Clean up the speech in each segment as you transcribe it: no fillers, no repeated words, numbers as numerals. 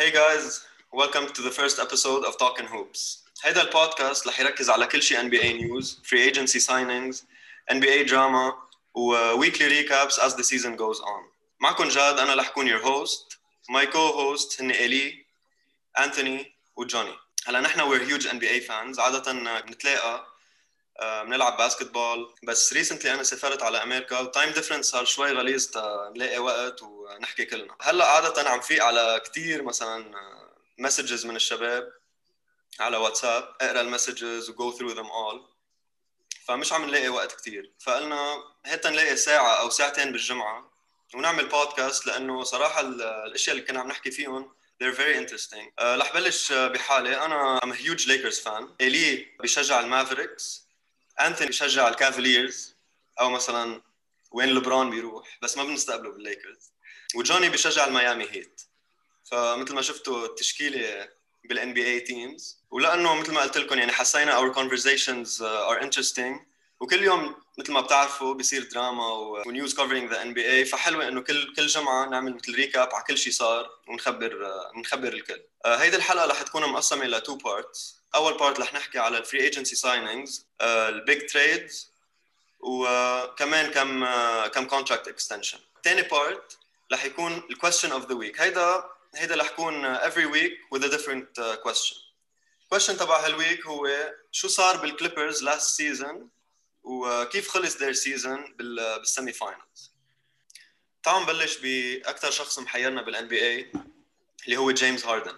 Hey guys, welcome to the first episode of Talking Hoops. هيدا البودكاست رح يركز على كل شيء NBA news, free agency signings, NBA drama و weekly recaps as the season goes on. معكم جاد، أنا رح أكون your host. My co-host هن إلي، أنتوني وجوني. هلا نحن we're huge NBA fans. عادة بنتلاقى بنلعب باسكتبول، بس recently أنا سافرت على أمريكا والتايم ديفرنس صار شوي غليظ نلاقي وقت ونحكي كلنا. هلا عادة عم فيق على كتير مثلا مسجز من الشباب على واتساب، اقرا المسجز و go through them all، فمش عم نلاقي وقت كتير، فقلنا هيك نلاقي ساعة أو ساعتين بالجمعة ونعمل بودكاست، لأنه صراحة الأشياء اللي كنا عم نحكي فيهم they're very interesting. رح بلش بحالي. أنا I'm a huge Lakers fan. إلي بيشجع المافريكس، أنتوني بيشجع الكافاليرز أو مثلا وين لبران بيروح، بس ما بنستقبله بالليكرز، وجوني بيشجع الميامي هيت. فمثل ما شفتوا التشكيلة بالان بي اي تيمز، ولانه مثل ما قلت لكم يعني حسينا our conversations are interesting، وكل يوم مثل ما بتعرفوا بيصير دراما ونيوز covering the NBA، فحلوه انه كل جمعه نعمل مثل ريكاب على كل شيء صار ونخبر الكل. هيدي الحلقه رح تكون مقسمه الى two parts. اول بارت رح نحكي على الفري ايجنسي سايننجز، البيج تريدز، وكمان كم كونتراكت اكستنشن. ثاني بارت رح يكون الكويستشن اوف ذا ويك. هيدا رح يكون every week with a different question. question تبع هالويك هو شو صار بالكليبرز last season وكيف خلص their season بالسيمي فاينلز. تعالوا نبلش بأكثر شخص محيرنا بالان بي اي اللي هو جيمس هاردن.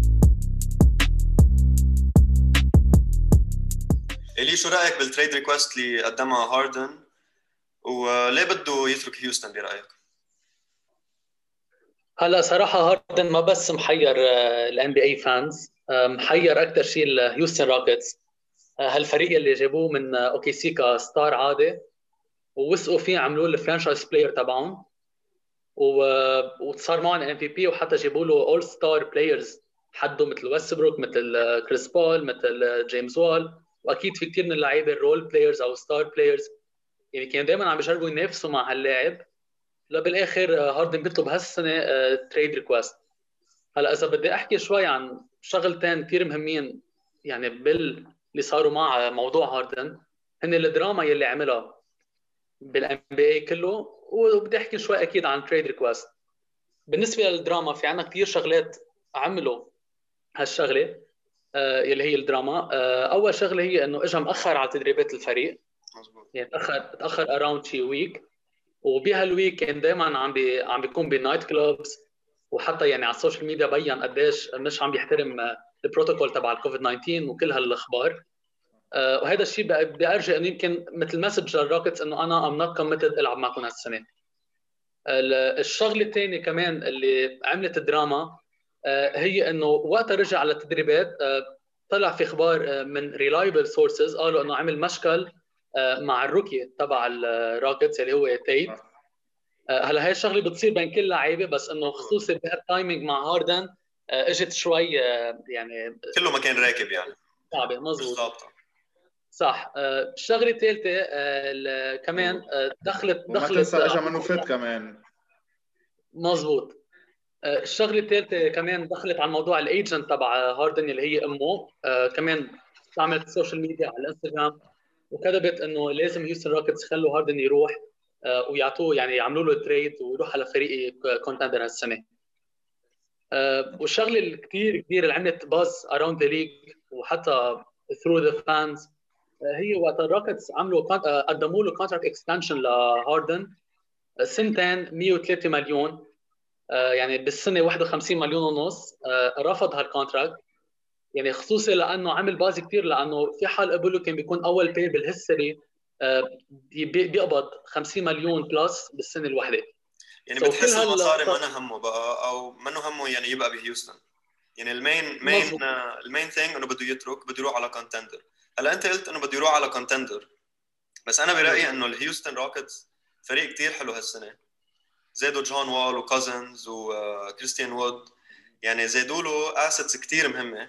إلي شو رأيك بالتريد ريكوست اللي قدمها هاردن، وليه بده يترك هيوستن برأيك؟ هلا صراحة هاردن ما بس محير الان بي اي فانز، محير أكثر شيء الهيوستن روكيتس. هالفريق اللي جابوه من اوكي سي كستار عادي، ووثقوا فيه، عملوه الفرانشايز بلاير تبعهم، وصار معهم ام في بي، وحتى جابوا له اول ستار بلايرز حده مثل ويستبروك، مثل كريس بول، مثل جيمس وول، واكيد في كثير من اللعيبه الرول بلايرز او ستار بلايرز، يعني كانوا دائما عم بيجربوا ينافسوا مع هاللاعب. لا بالاخر هاردن بيطلب هالسنه تريد ريكوست. هلا اذا بدي احكي شوي عن شغلتين كثير مهمين يعني اللي صاروا مع موضوع هاردن، هن الدراما يلي عملها بالان بي اي كله، وبدي احكي شوي اكيد عن تريد ريكوست. بالنسبه للدراما في عنا كثير شغلات عملوا هالشغله يلي هي الدراما. اول شغله هي انه اجى مأخر على تدريبات الفريق، يعني تاخر اراوند شي ويك، وبهالويك كان دائما عم بيكون بنايت كلوبز، وحتى يعني على السوشيال ميديا بين قديش مش عم بيحترم البروتوكول تبع الكوفيد 19 وكل هالاخبار. وهذا الشيء بدي ارجع انه يمكن مثل مسج للروكيتس انه انا ام نوت كوميتد العب معكم هالسنه. الشغله الثانيه كمان اللي عملت الدراما هي انه وقتها رجع على التدريبات، طلع في اخبار من ريلايبل سورسز قالوا انه عمل مشكل مع الروكي تبع الروكيتس اللي هو تيت. هلا هاي الشغله بتصير بين كل لعيبه، بس انه خصوصي بهالتايمينج مع هاردن اجت شوي يعني كله ما كان راكب يعني. صعبه. مزبوط، صح. الشغله الثالثه كمان دخلت وما تنسى اجى منه فت كمان. مزبوط. الشغله الثالثه كمان دخلت على موضوع الايجنت تبع هاردن اللي هي امه، كمان استعملت السوشيال ميديا على الانستغرام وكتبت انه لازم هيوستن روكيتس يخلوا هاردن يروح ويعطوه، يعني يعملوا له تريد ويروح على فريق كونتندر هالسنه. والشغله اللي كثير اللي عملت باز اراوند ذا ليج وحتى ثرو ذا فانز هي وقت الروكيتس عملوا قدموا له كونتراكت اكستنشن لهاردن سنتين 103 مليون، يعني بالسنه 51 مليون ونص. رفض هالكونتراكت، يعني خصوصي لانه عمل باز كثير، لانه في حال قبله كان بيكون اول بلاير بالهيستوري بيقبض 50 مليون بلس بالسنه الواحده. يعني بتحس المصاري ما همه بقى، او منه همه يعني يبقى بهيوستن. يعني المين ثينج انه بده يترك، بده يروح على كونتندر. هلا انت قلت انه بده يروح على كونتندر، بس انا برايي انه الهيوستن روكيتس فريق كتير حلو هالسنه. زادوا جون وول وكوزنز وكريستيان وود، يعني زادوا له اسيتس كتير مهمه،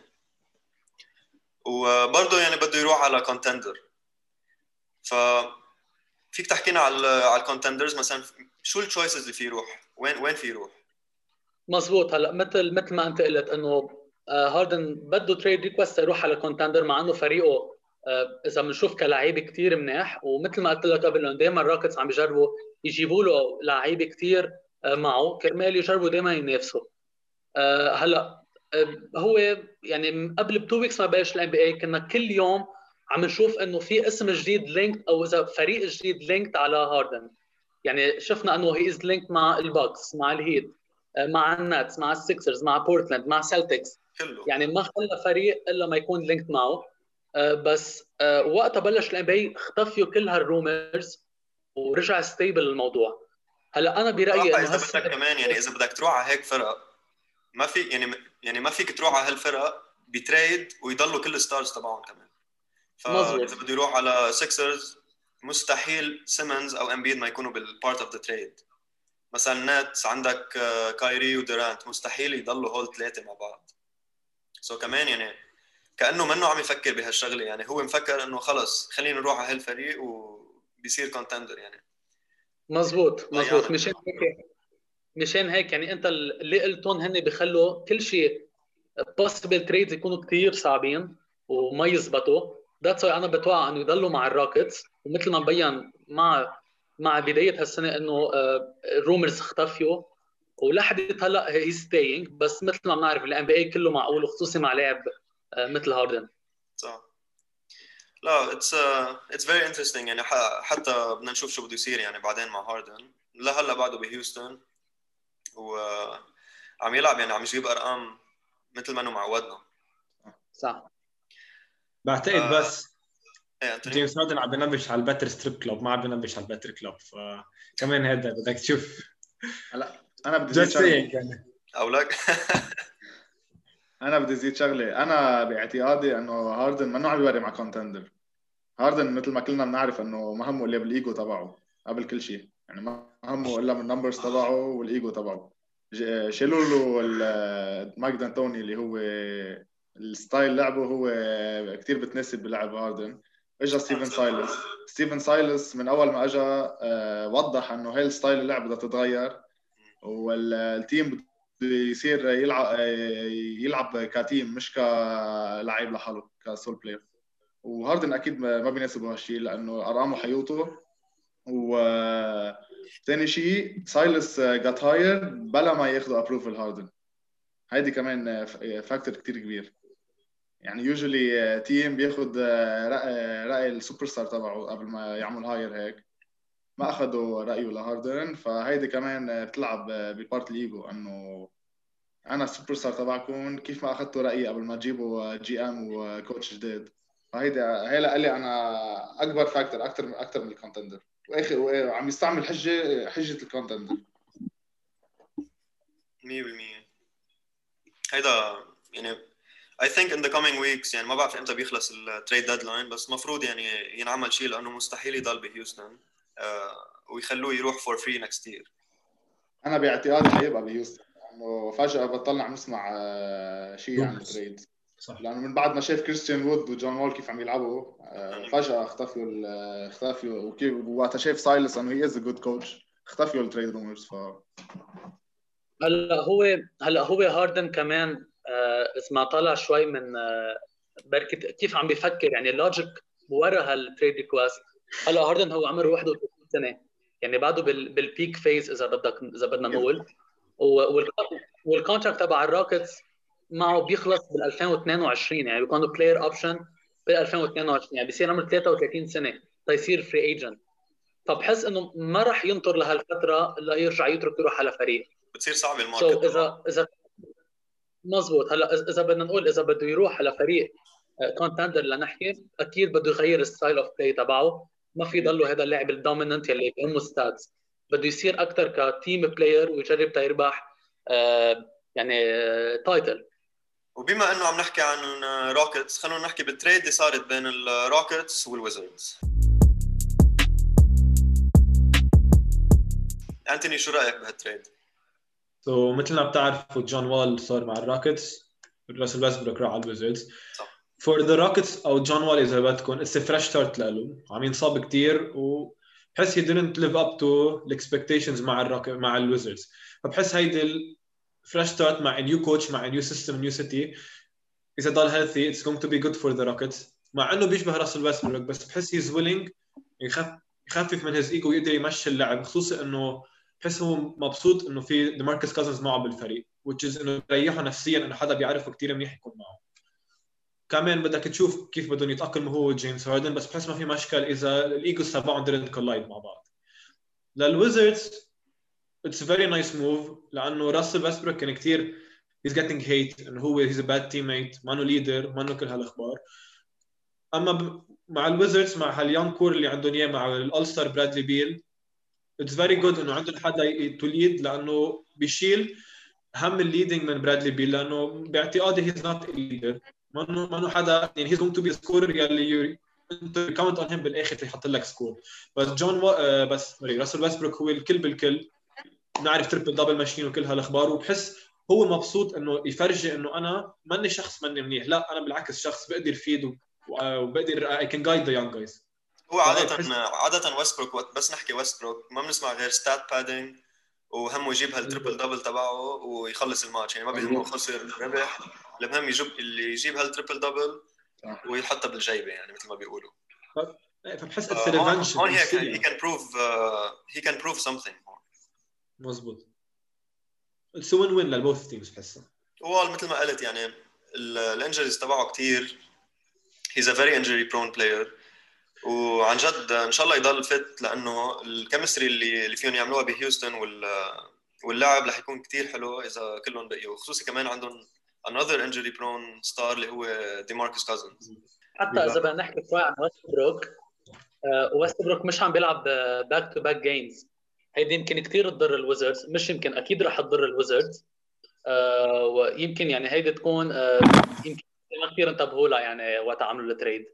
وبرضه يعني بده يروح على كونتندر. ف فيك تحكينا على الكونتندرز مثلا، شو التشويسز اللي فيه يروح؟ وين فيه يروح؟ مزبوط. هلا مثل ما انت قلت انه هاردن بده تريد ريكوست يروح على كونتندر، مع انه فريقه اذا بنشوف كلاعب كثير منيح، ومثل ما قلت لك قبل انه دائما الراكتس عم يجربوا يجيبوا له لعيبه كثير معه كرمال يجربوا دائما ينافسوا. هلا هو يعني قبل ب2 ويكس ما بلش الان بي اي كنا كل يوم عم نشوف انه في اسم جديد لينكد، او اذا فريق جديد لينكد على هاردن. يعني شفنا انه هي از لينكد مع الباكس، مع الهيت، مع الناتس، مع السكسرز، مع بورتلاند، مع سلتكس. كله. يعني ما خلى فريق الا ما يكون لينكد معه. بس وقتها بلش الان بي اي اختفوا كل هالرومرز ورجع ستيبل الموضوع. هلا انا برايي صراحة انه اذا بدك كمان يعني اذا بدك تروح على هيك فرق ما في يعني ما فيك تروح على هالفرق بتريد ويضلوا كل الستارز تبعهم كمان. مزبوط. فاذا بده يروح على سيكسرز مستحيل سيمنز او امبيد ما يكونوا بالبارت اوف ذا تريد. مثلا نتس عندك كايري ودورانت مستحيل يضلوا هول ثلاثه مع بعض. سو كمان يعني كانه منه عم يفكر بهالشغله، يعني هو مفكر انه خلص خلينا نروح على هالفريق وبيصير كونتندر يعني. مزبوط. ضيعنا. مشان هيك يعني انت اللي قلتهم هن بيخلوا كل شيء possible trades يكونوا كثير صعبين وما يزبطوا. ذاتس واي انا بتوقع انه يضلوا مع الروكيتس، ومثل ما مبين مع بدايه هالسنه انه الرومرز اختفوا ولحد هلا هي ستيينج. بس مثل ما بنعرف الان بي اي كله معقول، وخصوصي مع لاعب مثل هاردن. صح. لا it's very interesting يعني حتى بدنا نشوف شو بده يصير يعني بعدين مع هاردن. لهلا بعده بهيوستن وعم يلعب يعني عم يجيب ارقام مثل ما انه معودنا. صح. بعتقد بس ايه انتوني جيمس هاردن عم بينبش على الباتر ستريب كلوب، ما عم بينبش على الباتر كلوب، فكمان هذا بدك تشوف. هلا انا بدي زيد just شغله. saying يعني. او لك انا بدي زيد شغله. انا باعتقادي انه هاردن منه عم يوري مع كونتندر. هاردن مثل ما كلنا بنعرف انه ما همه الا بالايجو تبعه قبل كل شيء، يعني ما همه الا من النمبرز تبعه والايجو تبعه. شيلوا له مايك دانتوني اللي هو الستايل لعبه هو كتير بتناسب بلعب هاردن. اجى ستيفن سايلس من اول ما اجى وضح انه هاي الستايل اللعب بدها تتغير، والتيم بده يصير يلعب كتيم مش كلاعب لحاله كسول بلاير. وهاردن اكيد ما بيناسبه هالشيء لانه ارقامه حيوته. وثاني شيء سايلس جات هاير بلا ما ياخذوا ابروفل هاردن. هيدي كمان فاكتور كتير كبير. يعني يوجولي تيم بياخذ رأي السوبر ستار تبعه قبل ما يعمل هاير هيك، ما اخذوا رايه لهاردن. فهيدي كمان بتلعب ببارت الايجو انه انا السوبر ستار تبعكم، كيف ما اخذتوا رايي قبل ما تجيبوا جي ام وكوتش جديد. فهيدي هي لي انا اكبر فاكتور اكثر من الكونتندر. واخر وعم يستعمل حجه الكونتندر 100%. هيدا يعني I think in the coming weeks يعني ما بعرف امتى بيخلص التريد ديدلاين، بس مفروض يعني ينعمل شيء لانه مستحيل يضل بهيوستن ويخلوه يروح فور فري نكست يير. انا باعتقادي حيبقى بهيوستن لانه فجاه بطلنا عم نسمع شيء عن التريد. صح. لانه من بعد ما شاف كريستيان وود وجون وول كيف عم يلعبوا فجاه اختفوا وكيف وقت شاف سايلس انه هي از جود كوتش اختفوا التريد رومرز. هلا هو هاردن كمان اذا ما طلع شوي من بركه كيف عم بيفكر، يعني اللوجيك ورا هالتريد ريكوست. هلا هاردن هو عمره 31 سنه، يعني بعده بالبيك فيز اذا بدنا نقول. والكونتراكت تبع الروكيتس معه بيخلص بال 2022، يعني بيكون بلاير اوبشن بال 2022، يعني بيصير عمره 33 سنه تيصير فري ايجنت. فبحس انه ما راح ينطر لهالفتره ليرجع يروح على فريق. بتصير صعبه الماركت. اذا مزبوط. هلا اذا بدنا نقول اذا بده يروح على فريق كونتندر لنحكي، اكيد بده يغير الستايل اوف بلاي تبعه. ما في يضله هذا اللاعب الدوميننت اللي بيهمه ستاتس. بده يصير اكثر كتيم بلاير ويجرب تيربح يعني تايتل. وبما انه عم نحكي عن روكيتس خلونا نحكي بالتريد اللي صارت بين الروكيتس والويزردز. أنتوني شو رايك بهالتريد؟ مثل ما بتعرفوا جون وول صار مع الروكيتس، راسل ويستبروك راح على الويزردز. فور ذا روكيتس او جون وول اذا بدكم اتس فريش ستارت له. عم ينصاب كثير وبحس he didn't live up to the expectations مع الويزردز. فبحس هيدي فريش ستارت مع نيو كوتش مع نيو سيستم نيو سيتي. اذا ضل هيلثي اتس going to be good for the Rockets. مع انه بيشبه راسل ويستبروك بس بحس هيز ويلينج يخفف من هيز ايجو ويقدر يمشي اللعب، خصوصا انه بحس هو مبسوط انه في ديماركس كازنز معه بالفريق which is انه يريحه نفسيا انه حدا بيعرفه كثير منيح يكون معه. كمان بدك تشوف كيف بدهم يتاقلموا هو وجيمس هاردن، بس بحس ما في مشكل اذا الايجوز تبعهم didn't collide مع بعض. للويزردز it's a very nice move لانه راسل ويستبروك كان كثير he's getting hate انه هو he's a bad teammate، ما انه ليدر، ما انه كل هالاخبار. اما مع الويزردز مع هاليان كور اللي عندهم اياه مع الاول ستار برادلي بيل it's very good انه عندهم حدا تو ليد، لانه بيشيل هم الليدنج من برادلي بيل، لانه باعتقادي he's not a leader، ما انه حدا يعني he's going to be a scorer يلي انت كاونت اون هيم بالاخر يحط لك سكور. بس بس راسل ويستبروك هو الكل بالكل، نعرف تربل دبل ماشين وكل هالاخبار، وبحس هو مبسوط انه يفرجي انه انا ماني شخص ماني منيح، لا انا بالعكس شخص بقدر فيد وبقدر I can guide the young guys. هو عادة ويستبروك وقت بس نحكي ويستبروك ما بنسمع غير ستات بادينج وهمه يجيب هالتريبل دبل تبعه ويخلص الماتش، يعني ما بيهمه خسر ربح، المهم يجيب هالتريبل دبل ويحطها بالجيبه يعني مثل ما بيقولوا. فبحس it's revenge. هون he can prove something. مزبوط. it's a win-win للبوث تيمز بحسها. هو مثل ما قلت يعني الانجريز تبعه كتير، he's a very injury prone player، وعن جد ان شاء الله يضل فت، لانه الكيمستري اللي فيهم يعملوها بهيوستن واللعب رح يكون كتير حلو اذا كلهم بقيوا، خصوصي كمان عندهم another injury prone star اللي هو ديماركس كازنز. حتى اذا بدنا نحكي شوي عن ويستبروك مش عم بيلعب باك تو باك جيمز، هيدي يمكن كثير تضر الويزردز، مش يمكن اكيد رح تضر الويزردز، ويمكن يعني هيدي تكون يمكن كثير انتبهوا لها يعني وقت عملوا التريد،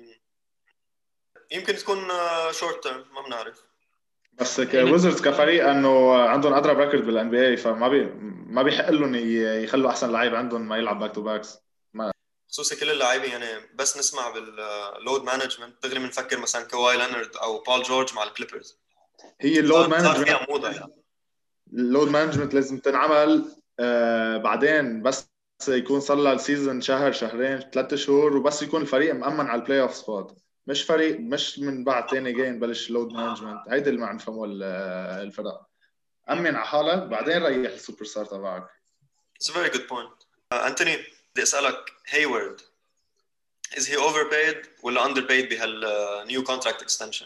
يمكن تكون شورت تيرم ما بنعرف. بس ويزردز كفريق انه عندهم اضرب ريكورد بالان بي اي، فما ما بيحق لهم يخلوا احسن لعيب عندهم ما يلعب باك تو باكس، خصوصي كل اللاعبين يعني بس نسمع باللود مانجمنت دغري بنفكر مثلا كواي لينارد او بول جورج مع الكليبرز. هي اللود مانجمنت اللود مانجمنت لازم تنعمل بعدين، بس يكون صار له السيزون شهر شهرين 3 شهور، وبس يكون الفريق مأمن على البلاي اوف سبوت، مش فريق مش من بعد ثاني جيم بلش لود مانجمنت. هيدا اللي ما نفهمه الفرق. أمن على حالك بعدين ريح السوبر ستار تبعك. It's a very good point. أنتوني بدي أسألك هايورد is he overpaid ولا underpaid بهال new contract extension؟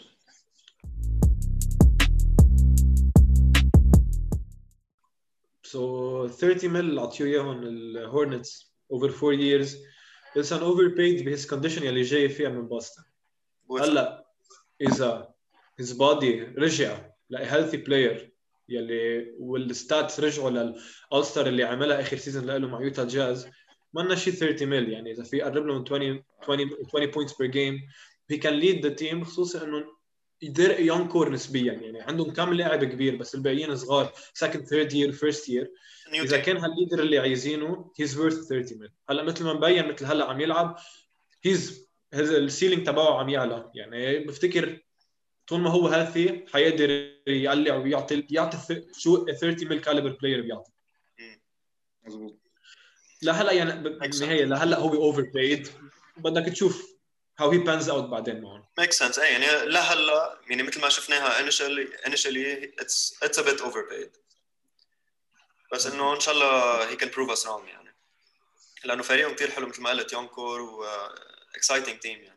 So 30 مل عطيو اياهم الهورنتس over 4 years. It's an overpaid بهis condition يلي جاي فيها من بوسطن. هلا اذا his body رجع ل healthy player يلي والستاتس رجعوا للأول ستار اللي عملها اخر سيزون له مع يوتا جاز، ما لنا شيء 30 مل، يعني اذا في يقرب له من 20 points per game he can lead the team، خصوصا انه يدير يونج كور نسبيا، يعني عندهم كم لاعب كبير بس الباقيين صغار second third year first year. اذا كان هالليدر اللي عايزينه he's worth 30 مل. هلا مثل ما مبين مثل هلا عم يلعب السيلينج تبعه عم يعلى، يعني بفتكر طول ما هو هيلثي حيقدر يقلع ويعطي شو 30 مل كاليبر بلاير بيعطي. مزبوط. لا هلا يعني بالنهايه لهلا هو اوفر بلايد، بدك تشوف how he pans out بعدين معهم. Makes sense. يعني لهلا يعني مثل ما شفناها initially it's a bit overpaid. بس انه ان شاء الله he can prove us wrong يعني. لانه فريقهم كثير حلو مثل ما قلت يونكور و exciting team يعني.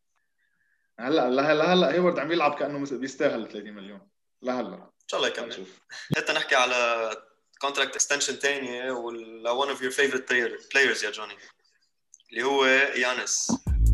هلا هيورد عم يلعب كانه بيستاهل 30 مليون. لهلا ان شاء الله يكمل. حتى نحكي على contract extension ثانيه ولا one of your favorite players يا جوني اللي هو يانس.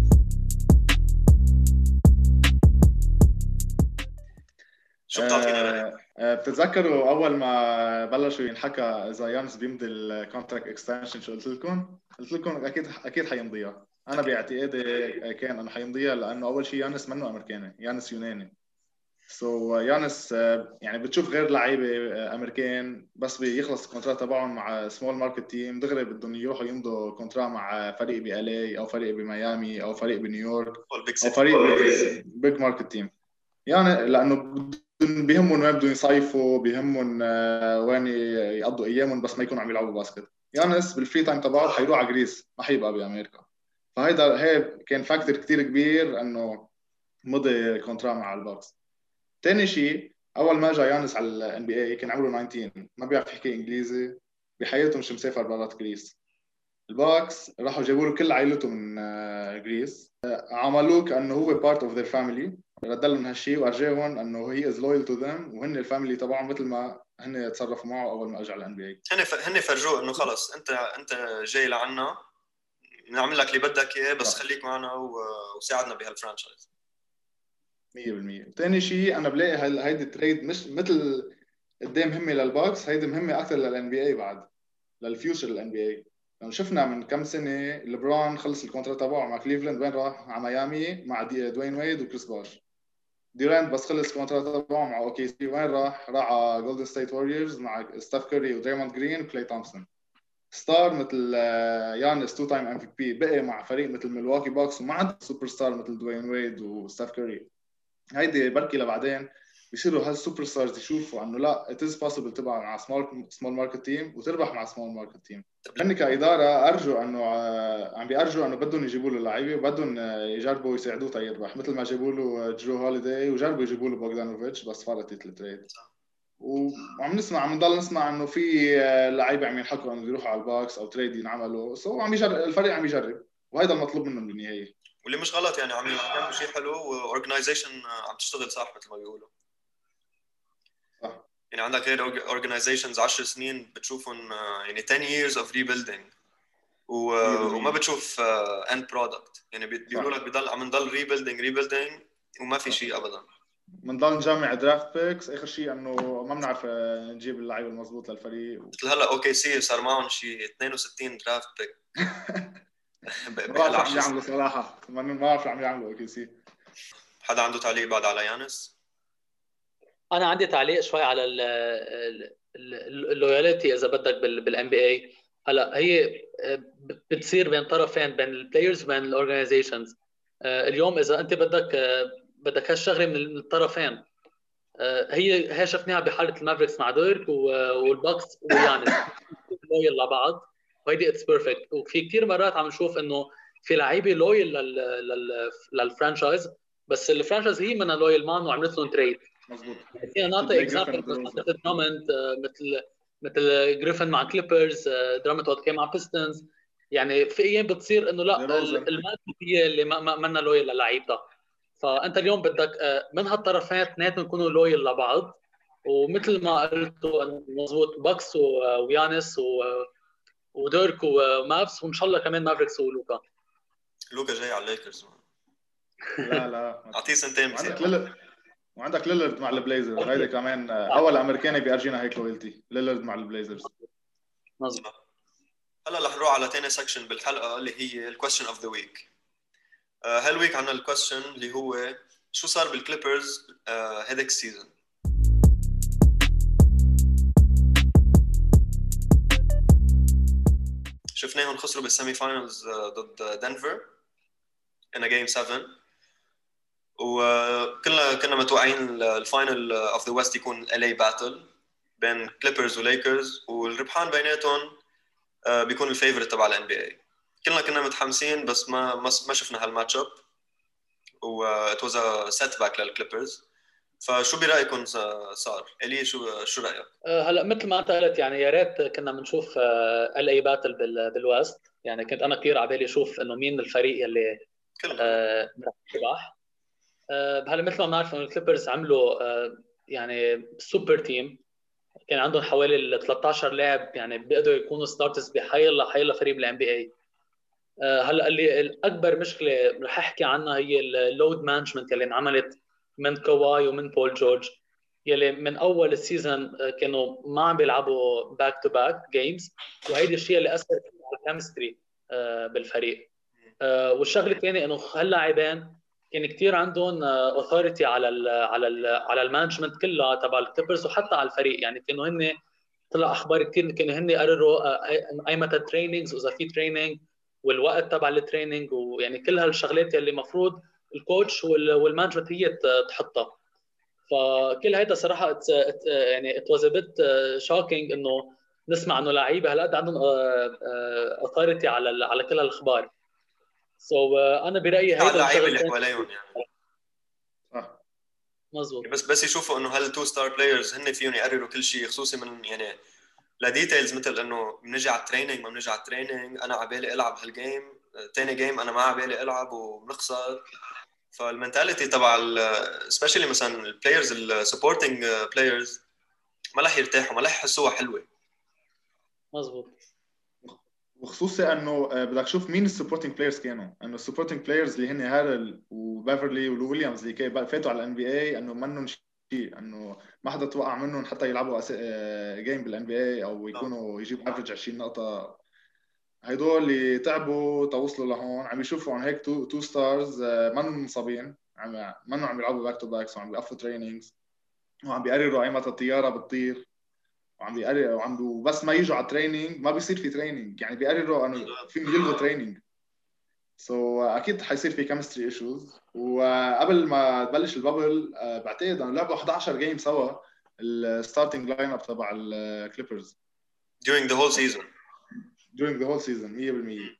شو بتعطينا بتتذكروا اول ما بلشوا ينحكى اذا يانس بيمضي الكونتراكت اكستنشن شو قلت لكم اكيد حيمضيها. انا باعتقادي كان انه حيمضيها، لانه اول شيء يانس منه امريكاني، يانس يوناني. يانس يعني بتشوف غير لعيبه امريكان بس بيخلص الكونتراكت تبعهم مع سمول ماركت تيم دغري بدهم يروحوا يمضوا كونتراكت مع فريق بLA او فريق بميامي او فريق بنيويورك او فريق بيج ماركت تيم، يعني لانه بيهمهم وين بدهم يصيفوا، بيهمهم وين يقضوا ايامهم، بس ما يكونوا عم يلعبوا باسكت. يانس بالفري تايم تبعه حيروح على جريس، ما حيبقى بامريكا. هي كان فاكتور كتير كبير انه مضي كونترا مع الباكس. ثاني شيء، اول ما جاء يانس على الان بي اي كان عمره 19، ما بيعرف يحكي انجليزي، بحياته مش مسافر برات جريس. الباكس راحوا جابوا له كل عائلته من جريس، عملوه كانه هو بارت اوف ذير فاميلي، رد لهم هالشيء وارجاهم انه هي از لويال تو ذم، وهن الفاميلي تبعهم مثل ما هن تصرفوا معه اول ما اجى على الان بي اي. هن فرجوه انه خلص انت جاي لعنا، نعمل لك اللي بدك اياه، بس خليك معنا وساعدنا بهالفرانشايز. 100%. ثاني شيء انا بلاقي هيدي التريد مش مثل قدام مهمه للباكس، هيدي مهمه اكثر للان بي اي بعد، للفيوتشر الان بي اي. لانه شفنا من كم سنه ليبرون خلص الكونترات تبعه مع كليفلاند، وين راح؟ على ميامي مع دوين ويد وكريس باش. ديورانت بس خلص الكونترات تبعه مع اوكي سي، وين راح؟ راح على جولدن ستيت ووريرز مع ستيف كوري ودريموند جرين وكلاي تومسون. ستار مثل يانس 2 تايم ام في بي بقي مع فريق مثل ميلواكي باكس، وما عنده سوبر ستار مثل دوين ويد وستيف كوري. هيدي بركي لبعدين بيصيروا هالسوبر ستارز يشوفوا انه لا it is possible تبقى مع سمول ماركت تيم وتربح مع سمول ماركت تيم. هن كاداره ارجو انه عم بيرجوا انه بدهم يجيبوا له لعيبه وبدهم يجربوا يساعدوه تيربح، مثل ما جابوا له جو هوليداي وجربوا يجيبوا له بوغدانوفيتش بس فرطت التريد. وعم نضل نسمع انه في لعيبه عم ينحكوا انه يروحوا على الباكس او تريد ينعملوا، سو عم يجرب الفريق، عم يجرب، وهذا المطلوب منهم بالنهايه. واللي مش غلط يعني، عم يعملوا شيء حلو، واورجنايزيشن عم تشتغل صح مثل ما بيقولوا. صح. يعني عندك غير اورجنايزيشنز 10 سنين بتشوفهم يعني 10 years of rebuilding وما بتشوف end product. يعني بيقولوا لك بضل عم نضل rebuilding وما في شيء ابدا. بنضل نجمع درافت بيكس، اخر شيء انه ما بنعرف نجيب اللعيبه المضبوط للفريق. مثل هلا اوكي سي صار معهم شيء 62 درافت بيك. ما بعرف عم يعملوا صراحه، ما بعرف عم يعملوا اوكي سي. حدا عنده تعليق بعد على يانس؟ انا عندي تعليق شوي على اللويالتي اذا بدك بالان بي اي. هلا هي بتصير بين طرفين، بين البلايرز وبين الاورجنايزيشنز. اليوم اذا انت بدك هالشغله من الطرفين. هي شفناها بحاله المافريكس مع ديرك والباكس ويانس لويال لبعض، وهيدي اتس بيرفكت. وفي كثير مرات عم نشوف انه في لعيبه لويال للفرانشايز، بس الفرانشايز هي منها لويال مان وعملت لهم تريد. مزبوط. فينا نعطي اكزامبل مثل دراموند، مثل جريفن مع كليبرز، دراموند وقت كان مع بيستنز. يعني في ايام بتصير انه لا الماركت هي اللي ما لويال للعيبه. فانت اليوم بدك من هالطرفين اثنيناتهم يكونوا لويال لبعض، ومثل ما قلتوا مضبوط، باكس ويانس وديرك ومافس، وان شاء الله كمان مافريكس لوكا جاي على الليكرز. لا اعطيه سنتين بس. وعندك ليلرد مع البليزرز، هيدا كمان اول امريكاني بيرجينا هيك لويالتي، ليلرد مع البليزرز. مظبوط. هلا رح نروح على ثاني سكشن بالحلقه اللي هي الكويستشن اوف ذا ويك. هالويك عندنا الكويستشن اللي هو شو صار بالكليبرز هيدك السيزون. شفناهم خسروا بالسيمي فاينلز ضد دنفر in a game 7، وكنا متوقعين الفاينل اوف ذا ويست يكون LA باتل بين كليبرز وليكرز، والربحان بيناتهم بيكون الفيفورت تبع الان بي اي. كنا متحمسين، بس ما شفنا هالماتش اب، و it was a setback للكليبرز. فشو برايكم صار؟ الي شو رايك؟ هلا مثل ما انت قلت، يعني يا ريت كنا بنشوف LA باتل بالويست. يعني كنت انا كثير على بالي اشوف انه مين الفريق اللي رح يربح. هلا مثل ما بنعرف انه الكليبرز عملوا يعني سوبر تيم، كان عندهم حوالي 13 لاعب يعني بيقدروا يكونوا ستارترز بحيلا فريق بالان بي اي. هلا اللي الاكبر مشكله رح احكي عنها هي اللود مانجمنت اللي انعملت من كواي ومن بول جورج، يلي من اول السيزون كانوا ما عم بيلعبوا باك تو باك جيمز، وهيدي الشيء اللي اثر على الكيمستري بالفريق. والشغله الثانيه انه هاللاعبين كان كثير عندهم اوثوريتي على المانجمنت كلها تبع الكليبرز وحتى على الفريق. يعني كانوا هن طلع اخبار كثير كانوا هن يقرروا اي متى تريننجز واذا في تريننج والوقت تبع التريننج، ويعني كل هالشغلات اللي المفروض الكوتش والمانجمنت هي تحطها. فكل هيدا صراحه يعني it was a bit shocking انه نسمع انه لعيبه هالقد عندهم authority على كل هالاخبار. انا برايي على هيدا اللعيبه اللي الشغلتين حواليهم يعني. صح. مزبوط. بس يشوفوا انه هل التو ستار بلايرز هن فيهم يقرروا كل شيء، خصوصي من يعني لديتيلز مثل انه بنجي على التريننج ما بنجي على التريننج، انا على بالي العب هالجيم، ثاني جيم انا ما على بالي العب وبنخسر. فالمنتاليتي تبع سبيشلي مثلا البلايرز السبورتنج بلايرز ما رح يرتاحوا، ما رح يحسوها حلوه. مزبوط. وخصوصي انه بدك تشوف مين السبورتنج بلايرز كانوا، انه السبورتنج بلايرز اللي هن هارل وبيفرلي ولويليامز اللي فاتوا على الان بي اي انه منهم شيء، انه ما حدا توقع منهم حتى يلعبوا جيم بالان بي اي او يكونوا يجيبوا افريج 20 نقطه. هدول اللي تعبوا توصلوا لهون عم يشوفوا عن هيك تو ستارز منهم مصابين، منهم عم يلعبوا باك تو باكس وعم بيقفوا تريننجز وعم بيقرروا اي متى الطياره بتطير، وعم بيقرروا بس ما يجوا على تريننج ما بيصير في تريننج، يعني بيقرروا انه فيهم يلغوا تريننج. اكيد حيصير في كيمستري ايشوز. وقبل ما تبلش البابل بعتقد انه لعبوا 11 جيم سوا الستارتنج لاين اب تبع الكليبرز during the whole season. 100%.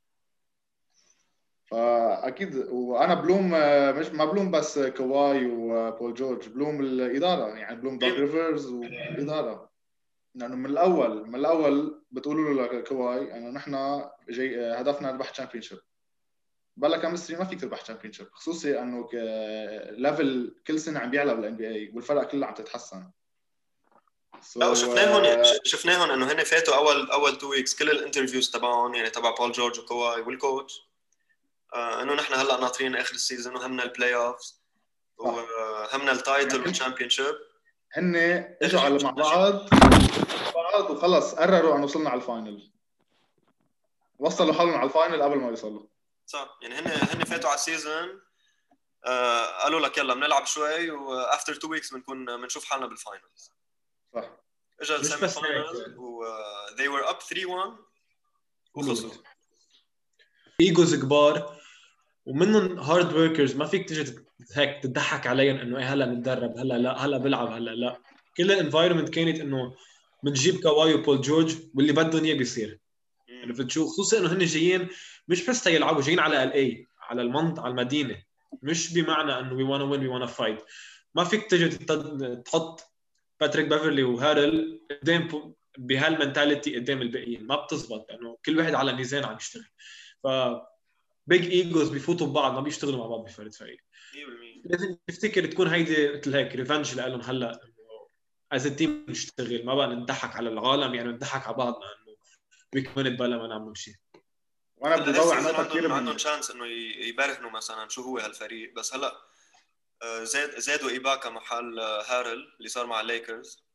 فاكيد وانا بلوم مش ما بلوم بس كواي وبول جورج، بلوم الاداره، يعني بلوم دوك ريفرز والاداره، لانه من الاول بتقولوا له لكواي انه نحن جاي هدفنا نربح تشامبيونشيب. بلا كيمستري ما فيك تربح تشامبيونشيب، خصوصي انه ليفل كل سنه عم بيعلى بالان بي اي والفرق كلها عم تتحسن. لا شفناهم انه هن فاتوا اول 2 ويكس كل الانترفيوز تبعهم، يعني تبع بول جورج وكواي والكوتش، انه نحن هلا ناطرين اخر السيزون وهمنا البلاي اوفز وهمنا التايتل والتشامبيونشيب. هن اجوا على مع بعض وخلص قرروا انه وصلنا على الفاينل، وصلوا حالهم على الفاينل قبل ما يوصلوا. صح، يعني هن فاتوا على السيزون قالوا لك يلا بنلعب شوي وافتر 2 ويكس بنشوف حالنا بالفاينلز. صح. اجى السيمي فاينل و they were up 3-1 وخسروا. ايجوز كبار ومنهم هارد وركرز، ما فيك تيجي هيك تضحك عليهم انه ايه هلا نتدرب هلا لا هلا بلعب هلا لا. كل الانفايرمنت كانت انه بنجيب كواي وبول جورج واللي بدهم اياه بيصير. يعني بتشوف خصوصا انه هن جايين مش بس يلعبوا، جايين على الاي على على المدينه، مش بمعنى انه وي وانا وين وي وانا فايت. ما فيك تيجي تحط باتريك بيفرلي وهارل قدام بهالمنتاليتي قدام الباقيين، ما بتزبط لانه كل واحد على ميزان عم يشتغل. ف بيج ايجوز بيفوتوا ببعض، ما بيشتغلوا مع بعض بفريق فريق. لازم تفتكر تكون هيدي مثل هيك ريفنج لهم هلا از تيم نشتغل، ما بقى نضحك على العالم، يعني نضحك على بعضنا انه بيكون بلا ما نعمل شيء. وانا بدي ضوي على نقطه كثير عندهم شانس انه يبرهنوا مثلا شو هو هالفريق، بس هلا زادوا ايباكا محل هارل اللي صار مع الليكرز،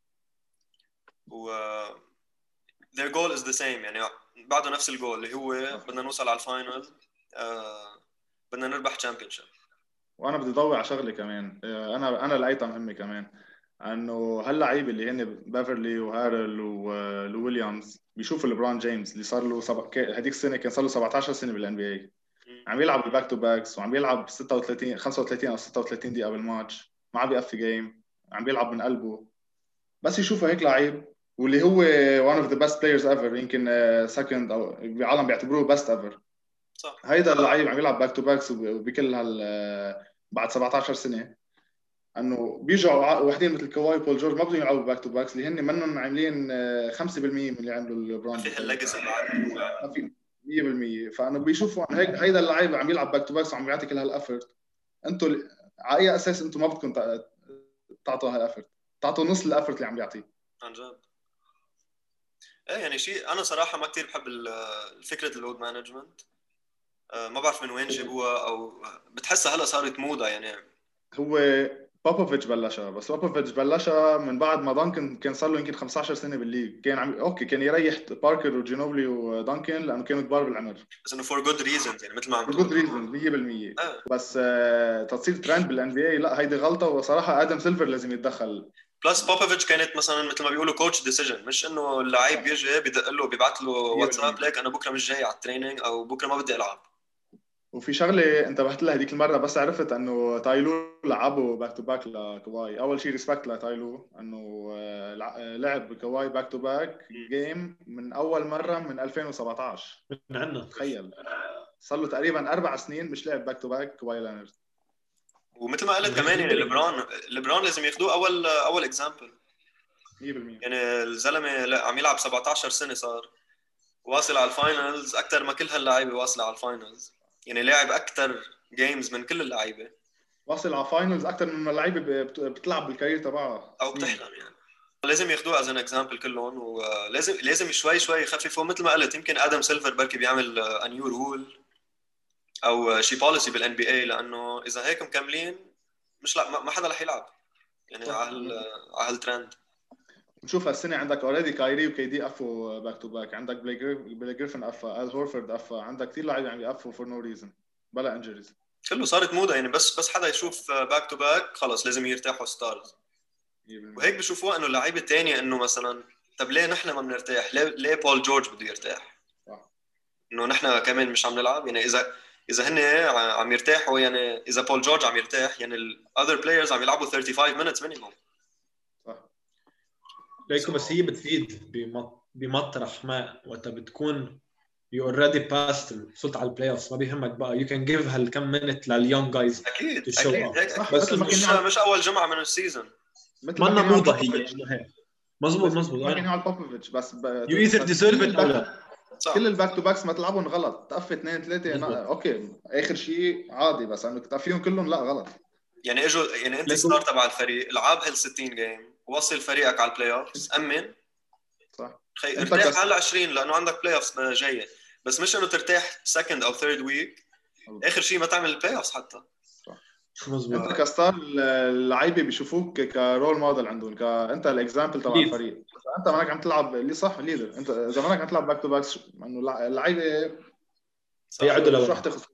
و their goal is the same، يعني بعده نفس الجول اللي هو بدنا نوصل على الفاينل، بدنا نربح تشامبيونشيب. وانا بدي ضوي على شغله كمان، انا لقيتها مهمه كمان، انه هاللعيبه اللي هن بيفرلي وهارل وويليامز بيشوفوا ليبرون جيمس اللي صار له هذيك السنه كان صار له 17 سنه بالان بي اي، عم يلعب الباك تو باكس وعم يلعب 35 او 36 دقيقه بالماتش، ما عم بيقفي جيم، عم بيلعب من قلبه. بس يشوفوا هيك لعيب واللي هو one of the best players ever، يمكن second او بالعالم بيعتبروه best ever. صح. هيدا اللعيب عم يلعب باك تو باكس وبكل بعد 17 سنه، انه بيجوا وحدين مثل كواي بول جورج ما بدهم يلعبوا باك تو باكس اللي هن منهم عاملين 5% من اللي عملوا البراند في هالليجاسي بعد ما في 100%. فانه بيشوفوا هيك هيدا اللعيب عم يلعب باك تو باكس وعم بيعطي كل هالافورت، انتم على اي اساس انتم ما بدكم تعطوا هالافورت؟ تعطوا نص الافورت اللي عم بيعطيه عن جد. ايه يعني شيء انا صراحه ما كثير بحب فكره اللود مانجمنت، ما بعرف من وين جابوها، او بتحسها هلا صارت موضه. يعني هو بوبوفيتش بلشها، بس بوبوفيتش بلشها من بعد ما دانكن كان صار له يمكن 15 سنه بالليج، كان اوكي كان يريح باركر وجينوبلي ودانكن لانه كانوا كبار بالعمر، بس انه فور جود ريزنز، يعني مثل ما عم تقول فور جود ريزنز 100%. بس تصير ترند بالان بي اي لا، هيدي غلطه، وصراحه ادم سيلفر لازم يتدخل. بلس بوبوفيتش كانت مثلا مثل ما بيقولوا كوتش ديسيجن، مش انه اللعيب بيجي بدق له بيبعث له واتساب ليك انا بكره مش جاي على التريننج او بكره ما بدي العب. وفي شغله انتبهت لها هذيك المره بس عرفت انه تايلو لعبوا باك تو باك لكواي. اول شيء ريسبكت لتايلو انه لعب كواي باك تو باك جيم من اول مره من 2017 من عندنا. تخيل صار له تقريبا 4 سنين مش لعب باك تو باك كواي لينارد. ومثل ما قلت كمان يعني ليبرون لازم ياخذوه اول اكزامبل 100%. يعني الزلمه عم يلعب 17 سنه صار واصل على الفاينلز اكثر ما كل هاللاعيبه واصله على الفاينلز يعني لاعب اكثر جيمز من كل اللعيبه واصل على فاينلز اكثر من اللعيبه بتلعب بالكارير تبعها او بتحلم يعني لازم ياخذوه از ان اكزامبل كلهم ولازم شوي يخففوا مثل ما قلت يمكن ادم سيلفر بركي بيعمل ا نيو رول او شي بوليسي بالان بي اي لانه اذا هيك مكملين مش لا ما حدا رح يلعب يعني على هالترند. نشوف هالسنه عندك اوريدي كايري وكي دي قفوا باك تو باك عندك بلاي جريفن قفا ال هورفورد قفا عندك كثير لاعبين عم يقفوا فور نو ريزن بلا انجريز كله صارت موضه يعني بس حدا يشوف باك تو باك خلص لازم يرتاحوا ستارز وهيك بشوفوها انه اللعيبه الثانيه انه مثلا طب ليه نحن ما بنرتاح ليه بول جورج بده يرتاح انه نحن كمان مش عم نلعب يعني اذا هن عم يرتاحوا يعني اذا بول جورج عم يرتاح يعني الاذر بلايرز عم يلعبوا 35 minutes minimum صح ليكو بس هي بتفيد بمطرح ما وقت بتكون you already passed وصلت على البلاي اوفز ما بيهمك بقى you can give هالكم minute لليونج جايز اكيد هيك بس مش اول جمعه من السيزون مثل ما كان موضه هي انه هيك مزبوط كان على بوبوفيتش بس you either deserve it or لا كل الباك تو باكس ما تلعبهم غلط تقفي 2 3 اوكي اخر شيء عادي بس انه تقفيهم كلهم لا غلط يعني اجوا يعني انت ستار تبع الفريق لعب هال 60 جيم وصل فريقك على البلاي اوفز امن صح ارتاح على 20 لانه عندك بلاي اوفز جايه بس مش انه ترتاح سكند او ثيرد ويك اخر شيء ما تعمل البلاي اوفز حتى مزبوط. انت كستار اللعيبه بيشوفوك كرول موديل عندهم انت الاكزامبل تبع الفريق انت مانك عم تلعب اللي صح ليدر انت اذا مانك عم تلعب باك تو باكس انه اللعيبه بيعدوا لو رح تخسر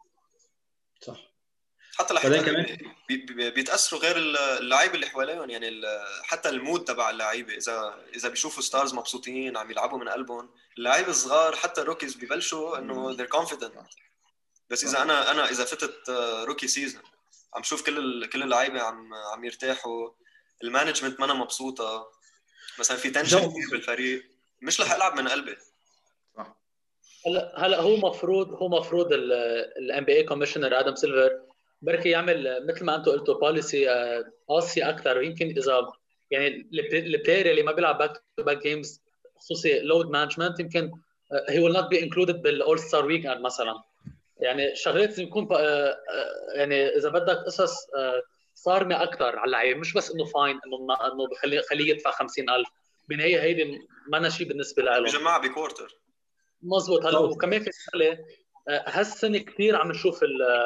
صح حتى لحتى بيتاثروا غير اللعيبه اللي حواليهم يعني حتى المود تبع اللعيبه اذا بيشوفوا ستارز مبسوطين عم يلعبوا من قلبهم اللعيبه الصغار حتى الروكيز ببلشوا انه they're confident بس اذا انا اذا فتت روكي سيزون عم شوف كل اللعيبه عم يرتاحوا المانجمنت ما انا مبسوطه مثلا في تنشن كثير بالفريق مش رح العب من قلبي صح هلا هو مفروض الان بي اي كوميشنر ادم سيلفر بركي يعمل مثل ما انتم قلتوا بوليسي قاسيه اكثر ويمكن اذا يعني البلاير اللي ما بيلعب باك تو باك جيمز خصوصي لود مانجمنت يمكن هي ويل نوت بي انكلودد بالاول ستار ويك اند مثلا يعني شغلات لازم يكون يعني اذا بدك قصص صارمه اكثر على اللعيبه مش بس انه فاين انه بخليه يدفع 50,000 بالنهايه هيدي ما شيء بالنسبه له بجماعه بكوارتر مزبوط. هلا وكمان في شغله هالسنه كثير عم نشوف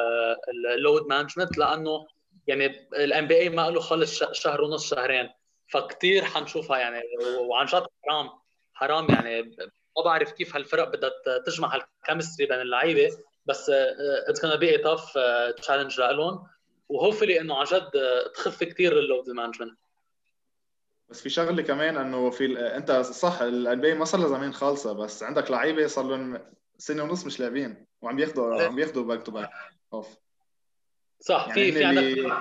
اللود مانجمنت لانه يعني الان بي اي ما له خلص شهر ونص شهرين فكتير حنشوفها يعني وعن جد حرام يعني ما بعرف كيف هالفرق بدها تجمع هالكيمستري بين اللعيبه بس اتس gonna be a tough challenge لهم وهوفلي انه عن جد تخف كثير اللود مانجمنت. بس في شغله كمان انه انت صح الان بي ما صار له زمان خالصه بس عندك لعيبه صار لهم سنه ونص مش لاعبين وعم بياخذوا باك تو باك اوف صح يعني في عندك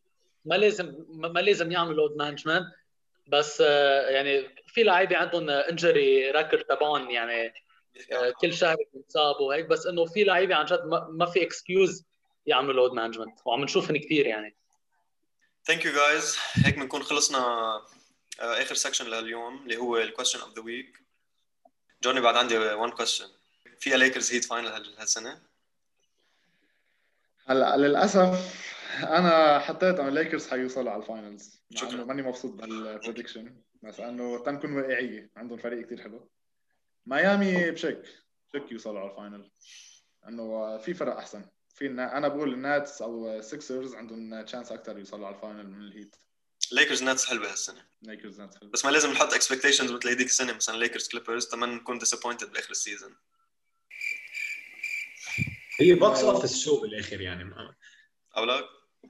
ما لازم يعملوا لود مانجمنت بس يعني في لعيبه عندهم انجري ريكورد تبعهم يعني كل شهر بيتصابوا وهيك بس انه في لعيبه عن جد ما في اكسكيوز يعملوا لود مانجمنت وعم نشوفهم كثير يعني. ثانك يو جايز هيك بنكون خلصنا اخر سكشن لليوم اللي هو الكويستشن اوف ذا ويك. جوني بعد عندي 1 كويستشن في ليكرز هيت فاينل هالسنه هلا للاسف انا حطيت انه الليكرز حيوصلوا على الفاينلز مع انه ماني مبسوط بالبريدكشن بس انه تنكون واقعيه عندهم فريق كتير حلو. ميامي بشك يوصلوا على الفاينل انه في فرق احسن انا بقول الناتس او سيكسرز عندهم تشانس اكثر يوصلوا على الفاينل من الهيت. ليكرز ناتس حلوه هالسنه بس ما لازم نحط اكسبكتيشنز مثل هذيك السنه مثلا ليكرز كليبرز تمام نكون ديسابوينتد باخر السيزون. هي بوكس اوفيس شو بالاخر يعني أولاك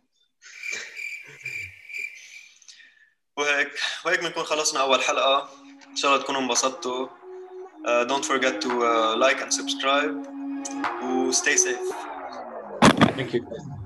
وهيك بنكون خلصنا أول حلقة إن شاء الله تكونوا انبسطتوا. Don't forget to like and subscribe و stay safe. ثانك يو